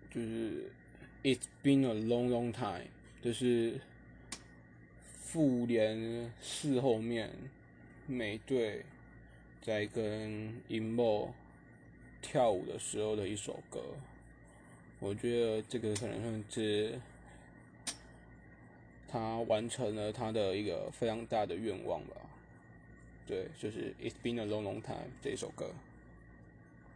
就是 It's been a long long time， 就是复联4后面美队在跟银幕跳舞的时候的一首歌。我觉得这个可能算是他完成了他的一个非常大的愿望吧。对，就是 It's been a long long time 这一首歌。